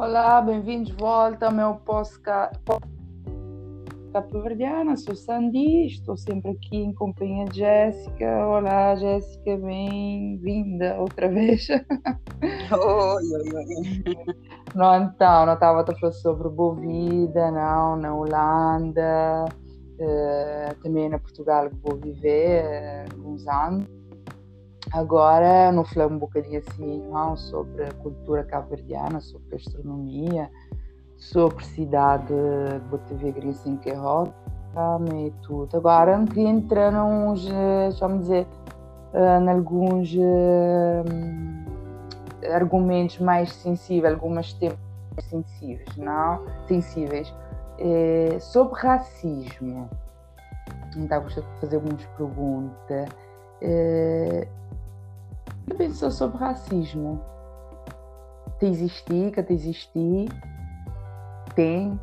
Olá, bem-vindos de volta ao meu podcast cabo-verdiana. Sou Sandy, estou sempre aqui em companhia de Jéssica. Olá, Jéssica, bem-vinda outra vez. Oi, oi, oi. Não estava a falar sobre Bovida, não, na Holanda, também na Portugal que vou viver alguns anos. Agora, não falei um bocadinho assim, não, sobre a cultura cabo-verdiana, sobre gastronomia, sobre cidade de Botafogo, assim, que é rota e tudo. Agora, não queria entrar nos, vamos dizer, em alguns argumentos mais sensíveis, alguns temas sensíveis, não? Sensíveis. Sobre racismo. Então, gostaria de fazer algumas perguntas. O que pensou sobre racismo? Te existir, que te existir? Tem?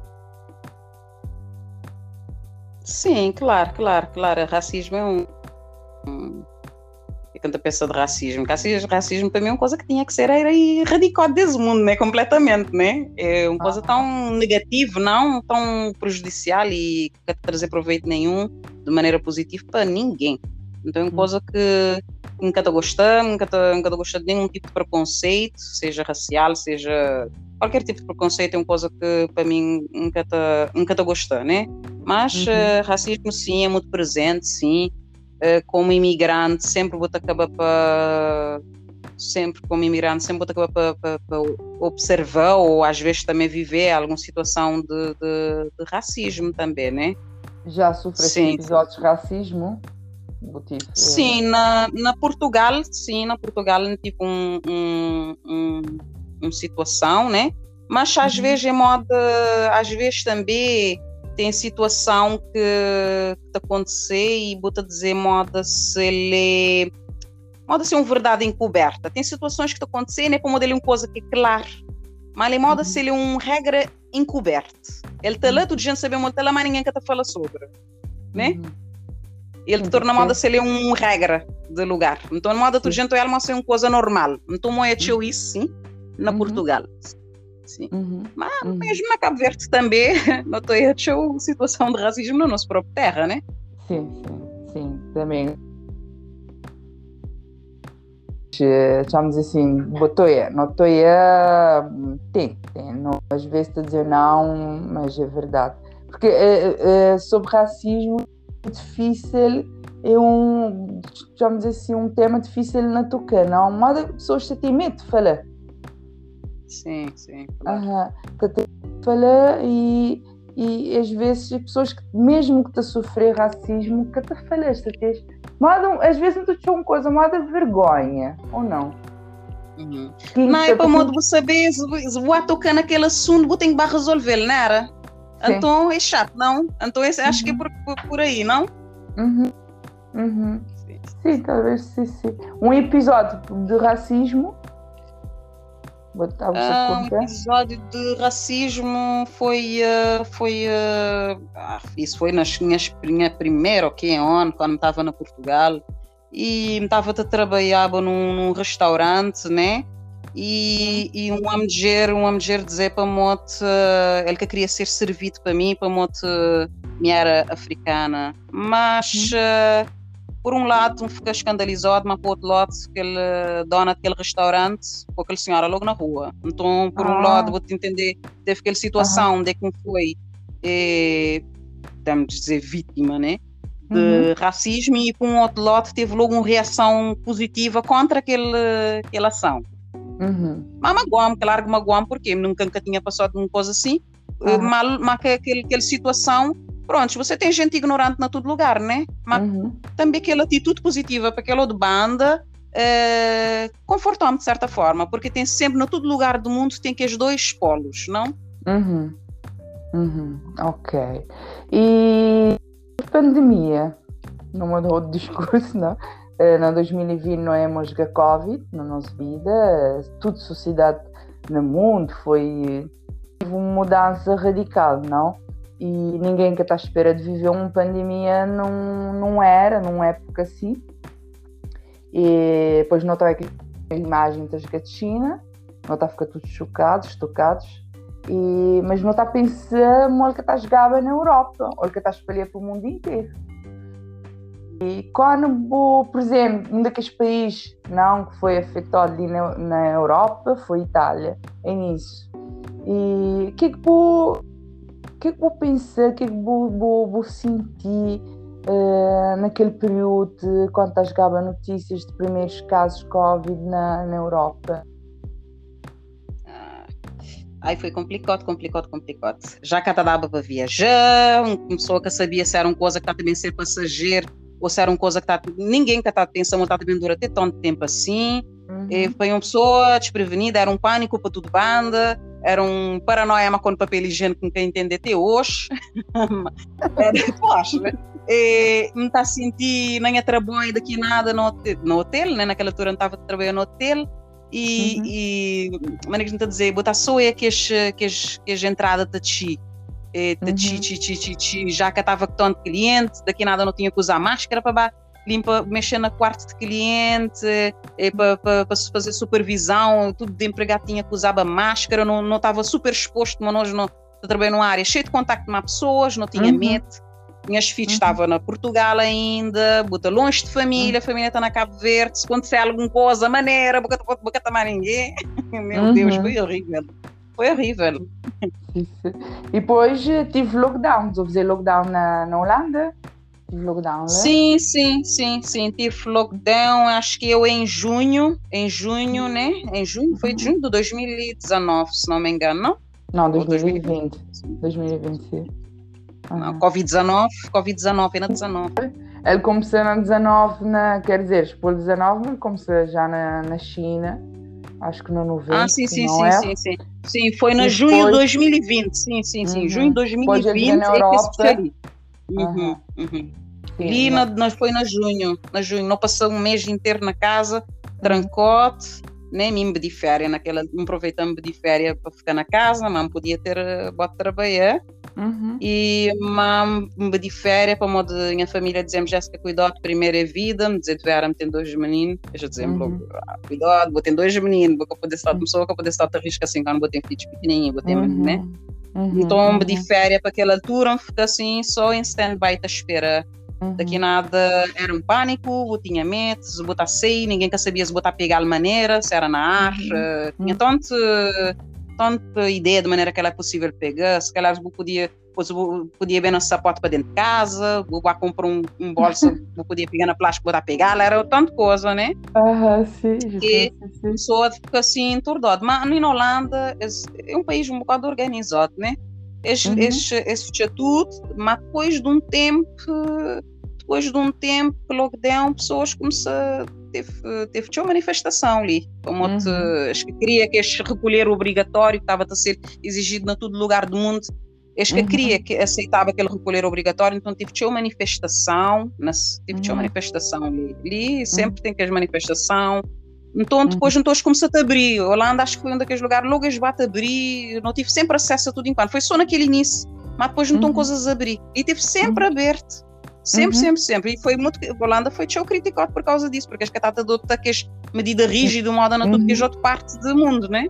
Sim, claro. Racismo é quando a pensa de racismo, racismo para mim é uma coisa que tinha que ser erradicado desse mundo, né? Completamente, né? É uma coisa tão negativa, não tão prejudicial e que não trazer proveito nenhum de maneira positiva para ninguém. Então é uma coisa que nunca estou gostando, nunca estou gostando de nenhum tipo de preconceito, seja racial, seja qualquer tipo de preconceito, é uma coisa que para mim nunca estou gostando, né? Mas racismo sim, é muito presente, sim. Como imigrante, sempre vou acabar para observar ou às vezes também viver alguma situação de racismo também, né? Já sofreste episódios de racismo? Sim, na Portugal não tive uma situação, né? Mas às vezes também tem situação que te acontecer e vou-te dizer moda se ele ser uma verdade encoberta. Tem situações que te acontecem, né? Como dele uma coisa que é clara, mas ele moda se ele é uma regra encoberta. Ele está lá, tudo gente sabe muito lá, mas ninguém que te fala sobre, né? Ele te torna moda se ele é uma regra de lugar. Então moda tudo gente é uma coisa normal. Então moeda isso sim na Portugal. Sim. Mas mesmo na Cabo Verde também não estou a situação de racismo na nossa própria terra, né? Sim, também. Chamamos assim, não estou tem, não, às vezes estou a dizer não, mas é verdade. Porque sobre racismo é difícil, chamamos assim, um tema difícil na tocar, não? Mas as pessoas têm medo de falar. Sim, claro. Que tem que falar e às vezes as pessoas que, mesmo que te sofrer racismo, que te falaste, às vezes não te acham uma coisa, mas de vergonha, ou não? Não, é para modo de saber se vou tocar naquele assunto, vou ter que resolver, não era? Sim. Então é chato, não? Então acho que é por aí, não? Sim, talvez sim. Um episódio de racismo. Um episódio de racismo foi isso foi na minha primeira ano, quando estava na Portugal e estava a trabalhar num restaurante, né? E uma mulher dizer para mote ele que queria ser servido para mim, para mote me era africana, mas por um lado fica escandalizado, mas por outro lado aquele dona daquele restaurante com aquele senhora logo na rua. Então por um lado vou-te entender, teve aquela situação de que foi vamos dizer vítima, né, de racismo, e por um outro lado teve logo uma reação positiva contra aquela ação. Mas magoam porque nunca tinha passado uma coisa assim, mas aquela situação. Pronto, você tem gente ignorante na todo lugar, né? Mas também aquela atitude positiva para aquela de banda confortou-me de certa forma, porque tem sempre, na todo lugar do mundo, tem que os dois polos, não? Ok. E a pandemia, não mudou o discurso, não? Na 2020 não é mais a Covid na nossa vida, toda a sociedade no mundo teve uma mudança radical, não? E ninguém que está à espera de viver uma pandemia não era, numa época assim. E depois não estava aqui a imagem das gatinhas, não está a ficar todos chocados, tocados. Mas não está a pensar mal que está a jogar na Europa, ou que está a espalhar para o mundo inteiro. E quando, por exemplo, um daqueles países não, que foi afetado ali na Europa foi a Itália, é nisso. E o que é que vou pensar, o que é que vou sentir naquele período quando está a jogar notícias de primeiros casos de Covid na Europa? Aí foi complicado. Já que dava para viajar, uma pessoa que sabia se era uma coisa que está também a ser passageiro, ou se era uma coisa que ninguém que está pensando que está também durar até tanto tempo assim. Foi uma pessoa desprevenida, era um pânico para tudo banda, era um paranoia, mas com papel higiênico que não quer entender até hoje. Poxa, não está a sentir nem a trabalho daqui nada no hotel, né? Naquela altura não estava a trabalhar no hotel. E maneira que a dizer, botar só é que as entradas de chi, já que estava com tanto cliente, daqui nada não tinha que usar máscara para mexer na quarto de cliente, para fazer supervisão, tudo de empregado tinha que usar máscara, não estava super exposto, mas nós não trabalhei numa área cheia de contacto com pessoas, não tinha medo. Minhas filhas estavam na Portugal ainda, bota longe de família, a família está na Cabo Verde, se acontecer alguma coisa, maneira, boca tomar ninguém. Meu Deus, foi horrível. E depois tive lockdown, estou a fazer lockdown na Holanda? Tive lockdown, né? Sim, tive lockdown, acho que eu em junho, né? Em junho, foi de junho de 2019, se não me engano, não? Não, 2020. 2020, sim. Não, Covid-19, é na 19. Ele começou na 19, quer dizer, depois de 19, ele começou já na China, acho que no 90. Sim, foi na junho de 2020, sim, junho de 2020 na Europa. Foi na junho, não passou um mês inteiro na casa, trancote, nem me de férias, me aproveitando de férias para ficar na casa, mas não podia ter bota trabalhar. E me de férias para modo minha família dizemos Jéssica, cuidado, primeira vida, me dizer deveram ter 2 meninos, eu já dizemos logo, cuidado, vou ter 2 meninos, vou poder estar pessoa que poder estar a risco assim, quando vou ter filhos pequenininhos, vou ter né? Então me de férias para aquela altura, fica assim, só em stand-by a espera. Daqui nada era um pânico, eu tinha medo, se botar sair, ninguém que sabia se botar pegar de maneira, se era na ar, tinha tanta ideia de maneira que ela é possível pegar, se calhar eu podia ver nosso sapato para dentro de casa, vou comprar um bolso, eu podia pegar na plástica, botar pegar, era tanta coisa, né? Sim. Que a pessoa fica assim enturdada, mas na Holanda é um país um bocado organizado, né? Esse tudo, mas depois de um tempo lockdown, pessoas começaram teve uma manifestação ali, como acho que queria que este recolher obrigatório que estava a ser exigido em todo lugar do mundo, acho que queria que aceitava aquele recolher obrigatório, então tive uma manifestação, ali sempre tem que as manifestação. Então depois todos começaram a abrir. A Holanda acho que foi um daqueles lugares, logo eles batem a abrir, não tive sempre acesso a tudo enquanto, foi só naquele início, mas depois não estão coisas a abrir, e teve sempre aberto, sempre, e foi muito, a Holanda foi criticado por causa disso, porque acho que está a adotar aquelas medidas rígidas, moda na tudo que é outra parte do mundo, né?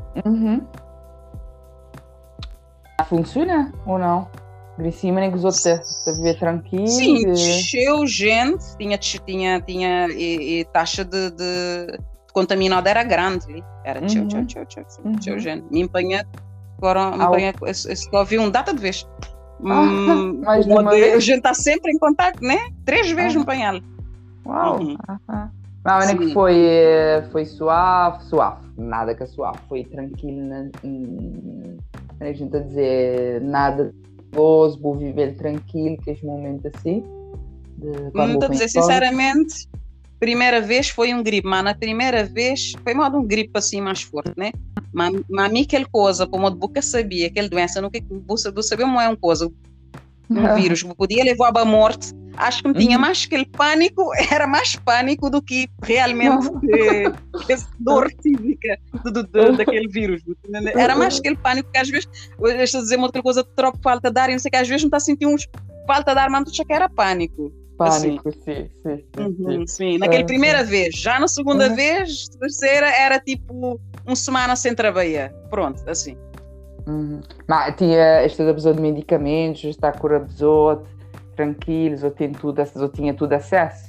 Funciona ou não? Em cima nem que os outros a viver tranquilo. Sim, encheu gente, tinha taxa de contaminada era grande, era tchau, gente. Me empanha, só vi um data de vez. Mas a gente está sempre em contato, né? 3 vezes no panhal. Uau! Mas nem que foi suave, nada que é suave, foi tranquilo, a gente a dizer nada nervoso, vou viver tranquilo, que este momento assim. Não estou a dizer sinceramente. Primeira vez foi um gripe, mas na primeira vez foi modo um gripe assim mais forte, né? Mas a mim aquela coisa, como eu nunca sabia, aquela doença, nunca sabia como é uma coisa, um vírus que podia levar à morte, acho que me tinha mais aquele pânico, era mais pânico do que realmente essa dor física daquele vírus. Era mais aquele pânico que às vezes, eu estou a dizer uma outra coisa, troco falta de ar, e não sei que às vezes não está a sentir falta de ar, mas não que era pânico. Pânico, assim. Sim. Naquela primeira vez, já na segunda vez, terceira, era tipo uma semana sem trabalhar. Pronto, assim. Uhum. Mas tinha esta pessoa de medicamentos, está com a pessoa tranquilos, ou tem tudo, ou tinha tudo acesso?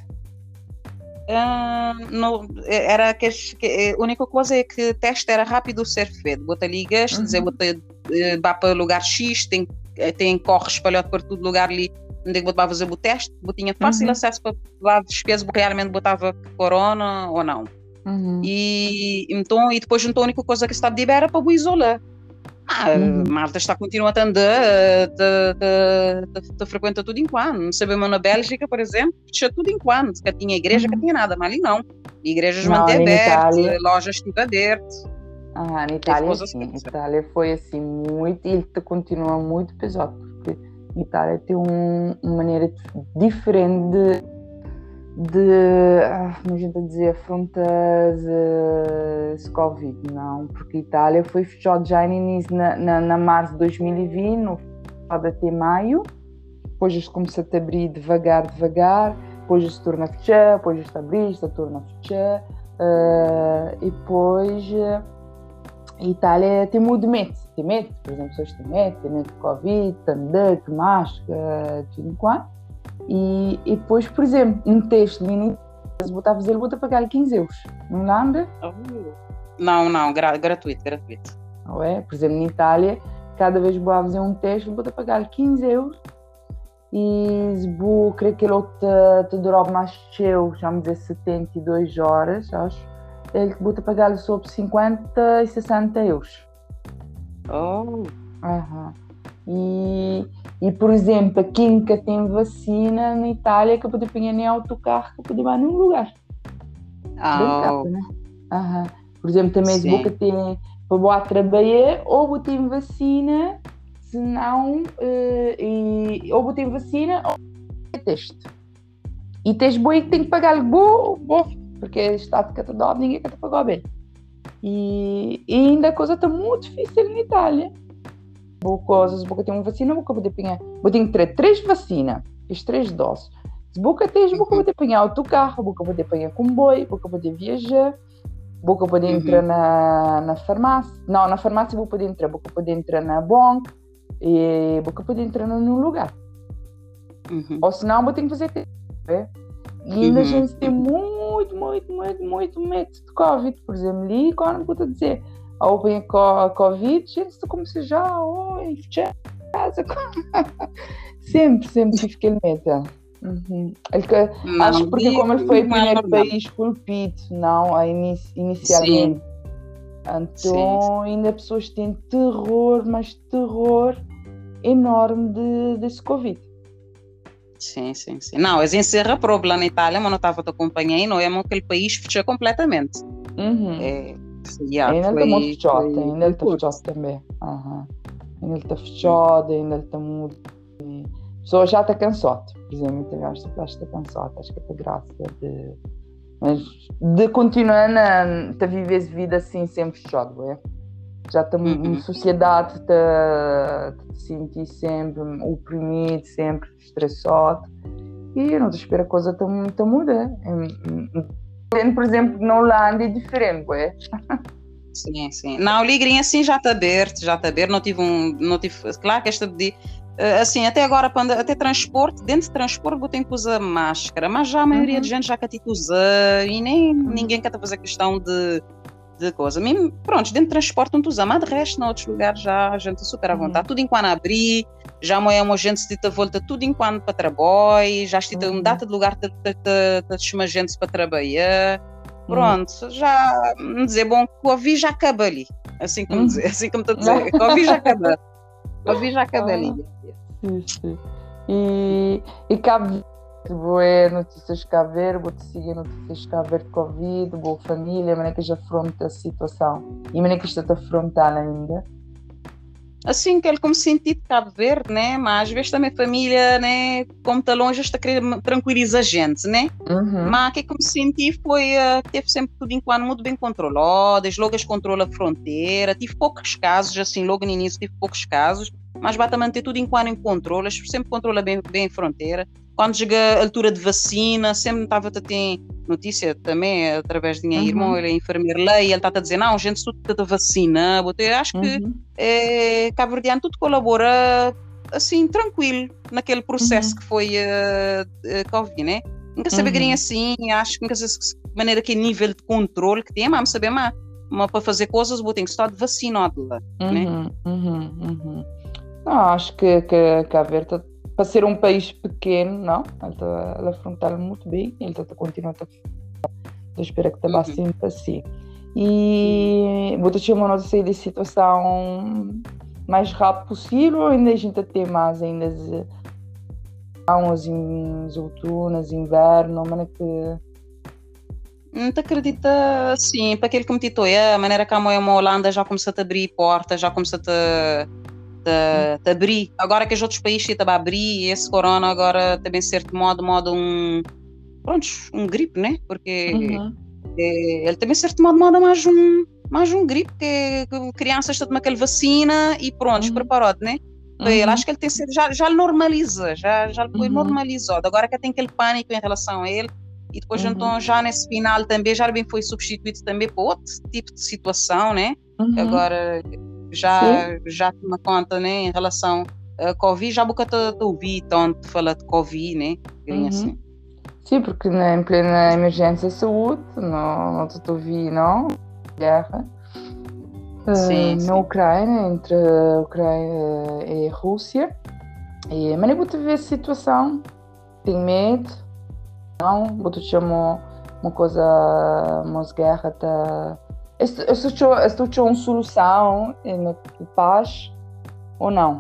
Não, era a única coisa é que o teste era rápido ser feito. Bota ligas, dizer, bota, vá para lugar X, tem corre espalhado por todo lugar ali, onde é que botava fazer o teste, tinha fácil acesso para lá despesa, porque realmente botava corona ou não. E depois então, a única coisa que se estava de era para o isolar. Malta está continuando a andar, te frequenta tudo enquanto. Não sabemos na Bélgica, por exemplo, fechou tudo enquanto, que tinha igreja, que tinha nada, mas ali não. Igrejas mantêm abertas, lojas estive abertas. Na Itália sim, Itália foi assim muito, e continua muito pesado, porque a Itália tem uma maneira diferente como a gente dizer, afrontar esse Covid, não, porque a Itália foi fechada já no início, na março de 2020, até maio, depois eles começam a abrir devagar, depois eles se torna a fechar, depois eles se abrir, se torna a fechar, e depois a Itália tem muito medo, por exemplo, pessoas têm medo de Covid, tandã, que máscara, tudo enquanto. E depois, por exemplo, um teste mínimo, se botar a fazer, vou pagar 15 euros. Não lembra? Não, gratuito. Não é? Por exemplo, na Itália, cada vez que vou fazer um teste, vou pagar 15 euros. E se vou querer que ele te dure mais cheio, vamos dizer 72 horas, acho, ele vou pagar sobre 50 e 60 euros. E, por exemplo, quem nunca tem vacina na Itália, que pode pegar nem autocarro, que pode ir a nenhum lugar. Caro, né? Por exemplo, também se você tem para trabalhar, ou você tem vacina, se não, ou você tem vacina, ou tem teste. E teste bom é que tem que pagar bom, porque o Estado que te dá, ninguém quer te pagar bem. E ainda a coisa está muito difícil na Itália. Porque tem uma vacina, vou ter que ter 3 vacinas, as 3 doses. Se você tem, vou poder pegar autocarro, vou poder pegar comboio, vou poder viajar, vou poder entrar na farmácia. Não, na farmácia vou poder entrar na banca e vou poder entrar num lugar. Ou senão vou ter que fazer teste. E ainda a gente tem muito medo de Covid, por exemplo, ali quando eu vou dizer ou bem a Covid, gente, começa já a fechar a casa. Sempre tive aquele medo. Acho porque como ele foi o primeiro país colpido, não, inicialmente. Então ainda pessoas têm terror, mas terror enorme desse Covid. Sim. Não, eles encerram a prova lá na Itália, mas não estava te acompanhando, não é aquele país fechou completamente. Ainda está muito fechado, ainda está fechado também. Ainda está fechado, ainda está muito. A pessoa já está cansada, por exemplo, já está cansada, acho que é graça de continuar a viver a vida assim, sempre fechado, é? Já está uma sociedade está se sentir sempre oprimido, sempre estressado, e eu não espero a coisa está mudar. Por exemplo, na Holanda é diferente, é? Sim. Não, o Ligrinha assim já está aberto, não tive claro que esta de assim, até agora, até transporte, dentro de transporte eu tenho que usar máscara, mas já a maioria de gente já quer usar e nem ninguém quer fazer questão de coisa. Mesmo, pronto, dentro de transporte não usa, mas de resto, em outros lugares já a gente super à vontade. Tudo enquanto abrir, já uma gente se te volta tudo enquanto para trabalho, já estive uma data de lugar de chamar gente para trabalhar. Pronto, já me dizer, bom, Covid já acaba ali. Assim como me está a dizer, Covid já acaba. Covid já acaba ali. Sim. E Cabo Verde, notícias de Cabo Verde, vou-te seguir notícias de Cabo Verde de Covid, boa família, como é que já afronta a situação? E como é que está a afrontar ainda? Assim, que ele como senti de Cabo Verde, né? Mas às vezes também a família, né? Como está longe, está a querer tranquilizar a gente, né? Mas o que eu senti foi que teve sempre tudo enquanto muito bem controlado, logo eles controlam a fronteira, tive poucos casos, assim, logo no início tive poucos casos, mas basta manter tudo enquanto em controle, sempre controla bem a fronteira. Quando chega a altura de vacina, sempre estava a ter notícia também, através de minha irmã, ele é enfermeiro lá, e ele está a dizer, não, gente, tudo está a vacina. Eu acho que Cabo Verdeano tudo colabora assim, tranquilo, naquele processo que foi Covid, né? Nunca saber assim, acho que nunca sei de maneira que nível de controle que tem, mas saber mas para fazer coisas, vou ter que estar vacinado lá, né? Não, acho que Cabo Verde, para ser um país pequeno, não, ele afronta muito bem, ele está a continuar a eu espero que está sempre assim. E vou ter uma notícia de situação mais rápido possível, ainda a gente tem mais ainda as outonas, inverno, mas que não te acredita, sim, para aquele que me titou, a maneira como a Holanda já começou a abrir portas, já começou a abrir, agora que os outros países estão a abrir, e esse corona agora também certo modo um gripe, né? Porque ele também certo modo mais um gripe que crianças estão tomando aquela vacina e pronto, preparado, né? Ele acho que ele tem sido, já normaliza, já foi normalizado. Agora que tem aquele pânico em relação a ele, e depois então já nesse final também já bem foi substituído também por outro tipo de situação, né? Agora já toma conta, né, em relação a Covid, já nunca te ouvi tanto falar de Covid, né? Assim. Sim, porque em plena emergência de saúde, não te ouvi, não? Guerra. Na Ucrânia, entre a Ucrânia e a Rússia. Mas nem vou te ver a situação, tenho medo, não, vou te chamar uma coisa, umas guerras, estou uma solução de paz ou não?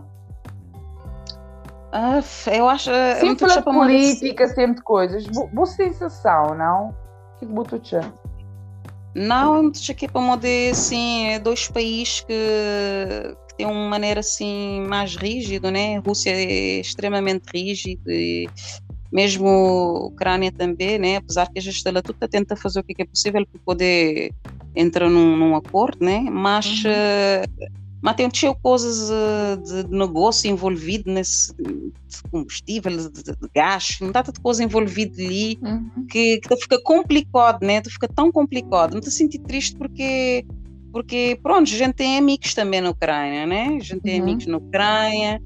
Eu acho... Sempre a política, sempre coisas, boa sensação, não? O que vou te chamar? Não, aqui para moder assim, dois países que têm uma maneira assim mais rígida, né? A Rússia é extremamente rígida e mesmo a Ucrânia também, né? Apesar que a gente está tudo tenta fazer o que é possível para poder entrar num acordo, né? Mas tem coisas de negócio envolvido nesse de combustível, de gás, não está tanta coisa envolvida ali que fica complicado, né? Fica tão complicado. Não te senti triste porque pronto, a gente tem amigos também na Ucrânia, né? A gente tem amigos na Ucrânia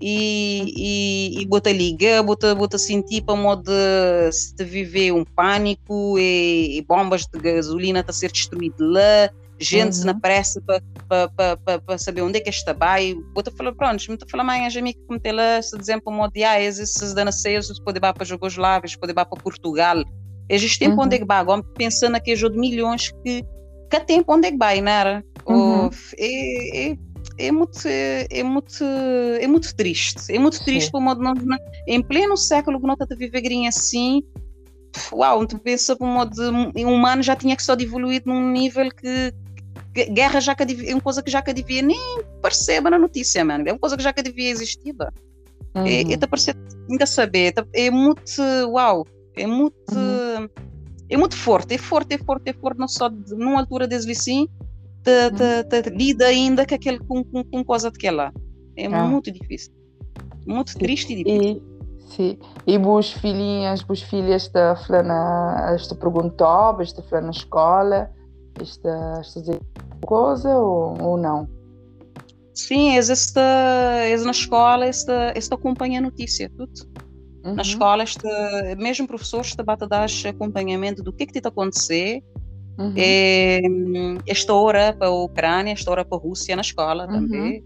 e bota ligar, bota sentir para modo se te viver um pânico e bombas de gasolina a ser destruídas lá, gente na pressa para saber onde é que está vai, bota falar pronto, me falar mais amigos como tem lá, se dizem para modo esses dananceiros pode ir para Jugoslávia, pode ir para Portugal, existe tempo onde é que vai, agora pensando aqui de milhões que tempo onde é que vai, não era? É muito triste. É muito triste para o modo em pleno século que não está a viver assim. Uau, tu pensa para o modo humano já tinha que só evoluir num nível que guerra já é uma coisa que já devia nem perceba na notícia, mano. É uma coisa que já devia existir. É ainda saber. É muito uau. É muito forte. É forte não só numa altura desde assim. Lida ainda com coisa daquela. É muito difícil. Muito triste e difícil. E boas filhas estão perguntando, estão falando na escola, estão dizer coisa ou não? Sim, eles na escola acompanham a notícia, tudo. Na escola, mesmo professores estão a dar acompanhamento do que está a acontecer. Esta hora para a Ucrânia, esta hora para a Rússia na escola também.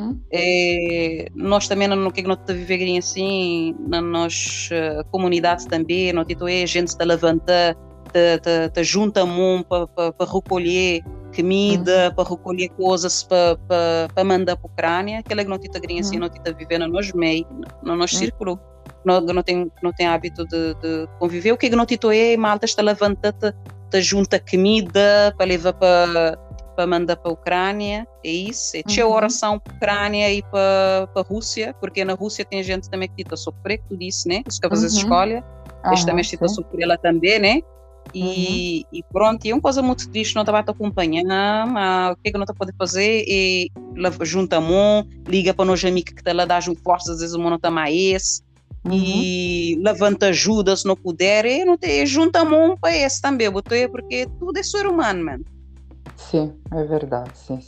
Nós também no que nós vivemos assim na nossa comunidade também, nós a gente está levantando, está junto a mão para recolher comida, para recolher coisas para mandar para a Ucrânia, aquela que nós estamos assim, nós estamos vivendo no nosso meio, no nosso círculo. Não tem hábito de conviver. O que nós estamos malta está levantando, junta comida para levar para mandar para a Ucrânia, é isso. Tinha oração para a Ucrânia e para a Rússia, porque na Rússia tem gente também que está sofrendo tudo isso, né? Os que fazem escolha, eles também estão sofrendo ela também, né? E pronto, e é uma coisa muito triste, não estava a te acompanhar, mas o que é que não está a poder fazer é junta a mão, liga para nós amigos que estão lá, dá forças, às vezes o mundo está mais e levanta ajuda se não puder, e não tem, junta a mão para esse também, porque tudo é ser humano, mano. Sim, é verdade, sim.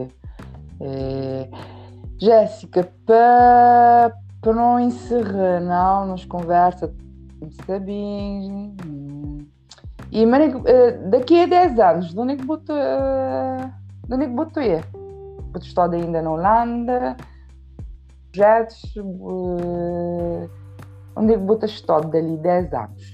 Jéssica, para não encerrar, não, nos conversa, sabes? E daqui a 10 anos, de onde é que botou ir? Botou estado ainda na Holanda, projetos, onde é que botou estado dali 10 anos?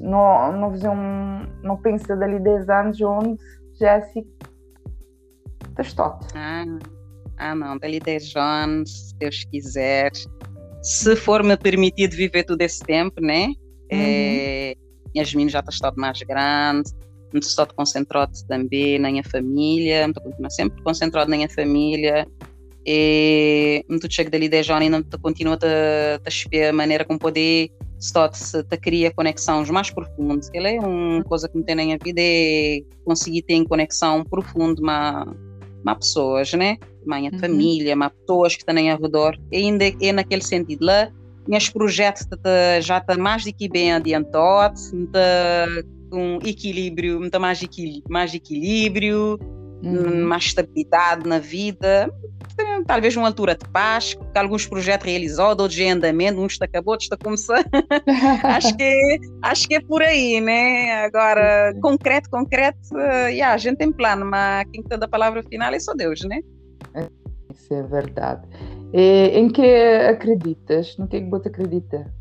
Não pensa dali 10 anos onde, Jéssica, está estado? Não, dali 10 anos, se Deus quiser, se for me permitido viver todo esse tempo, né? Minhas meninas já estão mais grandes, não estou concentrado também na minha família, estou sempre concentrado na minha família, e não chego dali 10 anos e não continuo a esperar a maneira como poder criar conexões mais profundas. Ela é uma coisa que me tem na minha vida, é conseguir ter conexão profunda com pessoas, né? Minha família, com pessoas que estão ao redor, e ainda é naquele sentido lá. Meus projetos já estão mais do que bem adiantados, com equilíbrio, muito mais equilíbrio, mais estabilidade na vida, talvez uma altura de paz, com alguns projetos realizados, outros em andamento, uns está acabou, outros está começando. acho que é por aí, né? Agora, concreto, a gente tem plano, mas quem está da palavra final é só Deus, né? Isso é verdade. Em que acreditas? No que é que você acredita?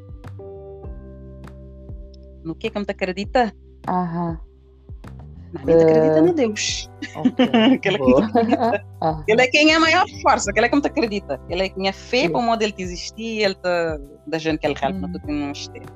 No que me acredita? Na minha acredita no Deus. Ele é quem é a maior força, ele é que me acredita. Ele é quem é fé para o modo ele que existia, ele da gente que ele helpa tudo que não esteja.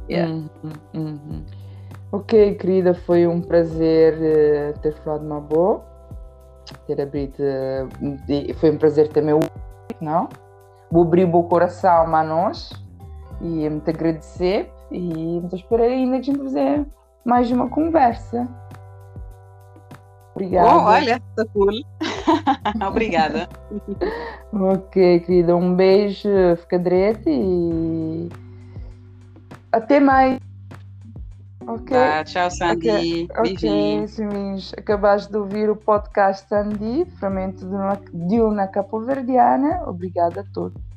Ok, querida, foi um prazer ter falado uma boa. Ter abrido, foi um prazer também, não? Vou abrir o meu coração a nós e muito agradecer e muito esperar ainda que a gente fazer mais uma conversa. Obrigada. Olha, tá cool. Obrigada. Ok, querida, um beijo, fica direito e até mais. Ok. Tchau, Sandy. Ok, Simis, acabaste de ouvir o podcast Sandy, Fragmento de uma Capoverdiana. Obrigada a todos.